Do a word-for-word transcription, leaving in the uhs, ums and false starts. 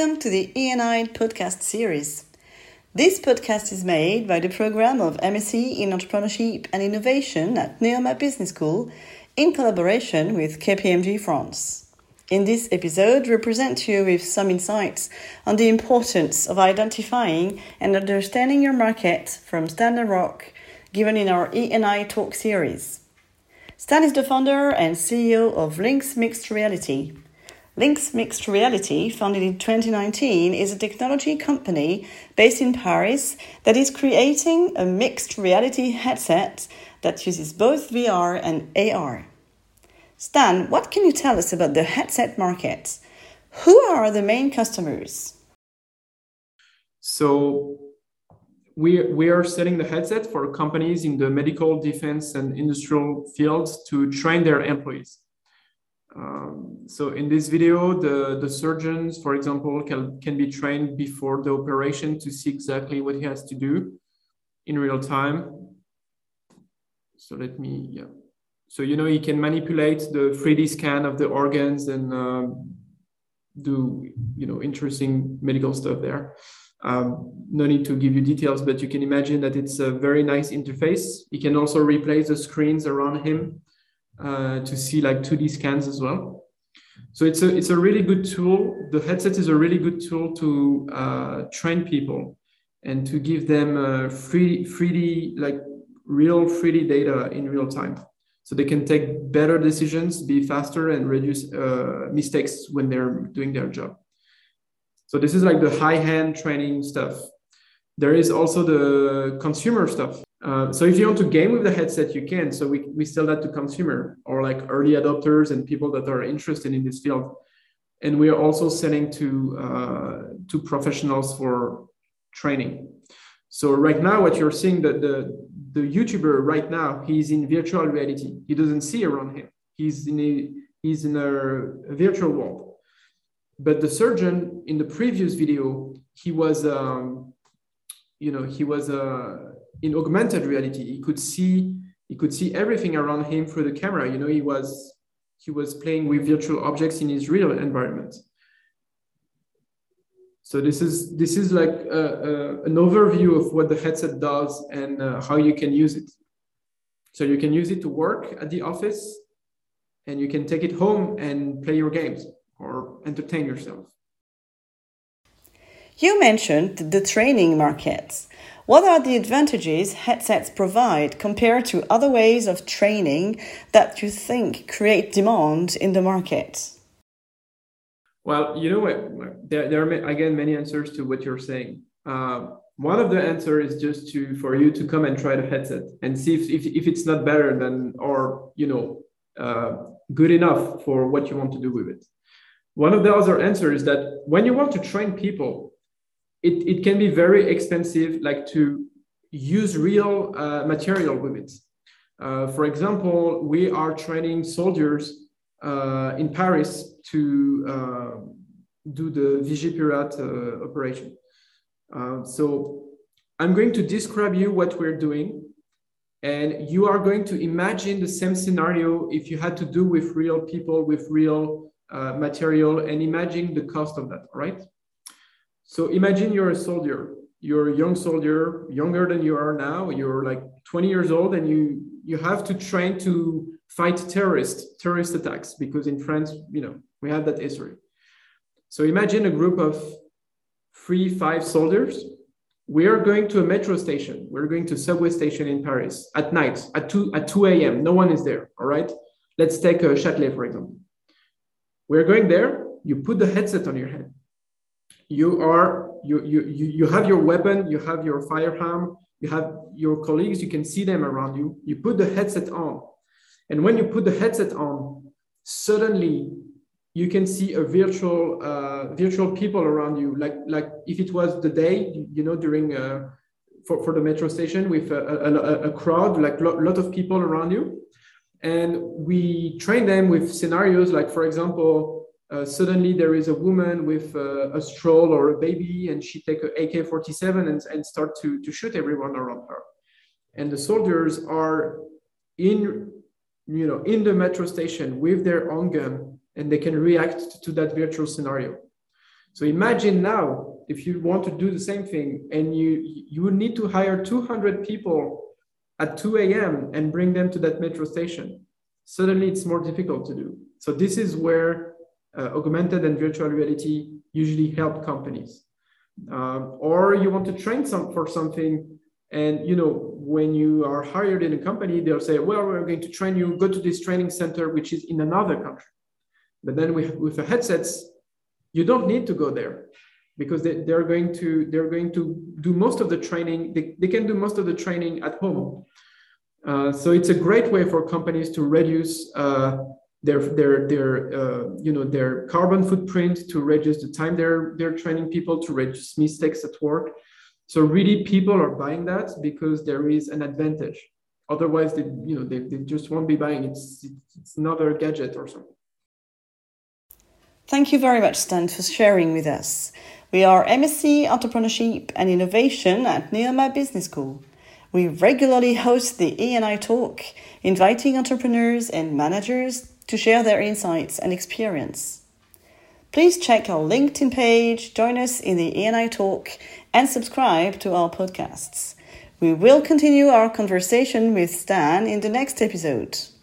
Welcome to the E N I podcast series. This podcast is made by the program of M S c in Entrepreneurship and Innovation at Neoma Business School in collaboration with K P M G France. In this episode, we present you with some insights on the importance of identifying and understanding your market from Stan Larocque, given in our E N I Talk series. Stan is the founder and C E O of Lynx Mixed Reality. Lynx Mixed Reality, founded in twenty nineteen, is a technology company based in Paris that is creating a mixed reality headset that uses both V R and A R. Stan, what can you tell us about the headset market? Who are the main customers? So we, we are selling the headset for companies in the medical, defense, and industrial fields to train their employees. Um, so in this video, the, the surgeons, for example, can, can be trained before the operation to see exactly what he has to do in real time. So let me, yeah. So, you know, he can manipulate the three D scan of the organs and uh, do, you know, interesting medical stuff there. Um, no need to give you details, but you can imagine that it's a very nice interface. He can also replace the screens around him uh, to see like two D scans as well. So it's a, it's a really good tool. The headset is a really good tool to uh, train people and to give them uh, free, 3D, like real three D data in real time. So they can take better decisions, be faster, and reduce uh, mistakes when they're doing their job. So this is like the high-end training stuff. There is also the consumer stuff. Uh, so if you want to game with the headset, you can. So we, we sell that to consumer or like early adopters and people that are interested in this field. And we are also selling to, uh, to professionals for training. So right now, what you're seeing, the, the, the YouTuber right now, he's in virtual reality. He doesn't see around him. He's in a, he's in a, a virtual world. But the surgeon in the previous video, he was, um, you know, he was uh, in augmented reality. He could see, he could see everything around him through the camera. You know, he was, he was playing with virtual objects in his real environment. So this is this is like a, a, an overview of what the headset does and uh, how you can use it. So you can use it to work at the office, and you can take it home and play your games or entertain yourself. You mentioned the training markets. What are the advantages headsets provide compared to other ways of training that you think create demand in the market? Well, you know what? There, there are again many answers to what you're saying. Uh, one of the answers is just to for you to come and try the headset and see if if, if it's not better than or you know uh, good enough for what you want to do with it. One of the other answers is that when you want to train people, it, it can be very expensive, like to use real uh, material with it. Uh, for example, we are training soldiers uh, in Paris to uh, do the Vigipirate uh, operation. Uh, so I'm going to describe you what we're doing, and you are going to imagine the same scenario if you had to do with real people, with real uh, material, and imagine the cost of that, all right? So imagine you're a soldier, you're a young soldier, younger than you are now, you're like twenty years old, and you, you have to train to fight terrorists, terrorist attacks, because in France, you know, we have that history. So imagine a group of three, five soldiers. We are going to a metro station. We're going to a subway station in Paris at night, at two, at two a m No one is there, all right? Let's take a Châtelet, for example. We're going there. You put the headset on your head. You are, you, you, you, you have your weapon, you have your firearm, you have your colleagues, you can see them around you. You put the headset on. And when you put the headset on, suddenly you can see a virtual, uh, virtual people around you. Like, like if it was the day, you know, during uh, for, for the metro station with a, a, a crowd, like a lot of people around you. And we train them with scenarios like, for example, uh, suddenly there is a woman with uh, a stroll or a baby, and she take a A K forty-seven and, and start to, to shoot everyone around her. And the soldiers are in, you know, in the metro station with their own gun, and they can react to that virtual scenario. So imagine now, if you want to do the same thing and you, you would need to hire two hundred people at two a.m. and bring them to that metro station. Suddenly it's more difficult to do. So this is where uh, augmented and virtual reality usually help companies. Um, or you want to train some for something, and you know, when you are hired in a company, they'll say, well, we're going to train you, go to this training center, which is in another country. But then with, with the headsets, you don't need to go there, because they, they're going to they're going to do most of the training. They, they can do most of the training at home. Uh, so it's a great way for companies to reduce uh, their their their uh, you know their carbon footprint, to reduce the time they're they're training people, to reduce mistakes at work. So really, people are buying that because there is an advantage. Otherwise, they you know they, they just won't be buying. It's it's another gadget or something. Thank you very much, Stan, for sharing with us. We are M S c Entrepreneurship and Innovation at Neoma Business School. We regularly host the E and I Talk, inviting entrepreneurs and managers to share their insights and experience. Please check our LinkedIn page, join us in the E and I Talk, and subscribe to our podcasts. We will continue our conversation with Stan in the next episode.